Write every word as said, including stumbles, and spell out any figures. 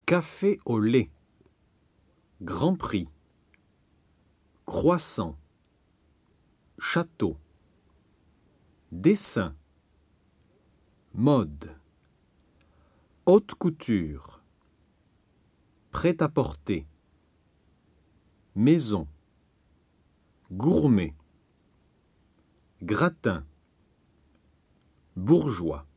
Café au lait. Grand Prix. Croissant. Château. Dessin. Mode. Haute couture. Prêt-à-porter. Maison. Gourmet. Gratin. Bourgeois.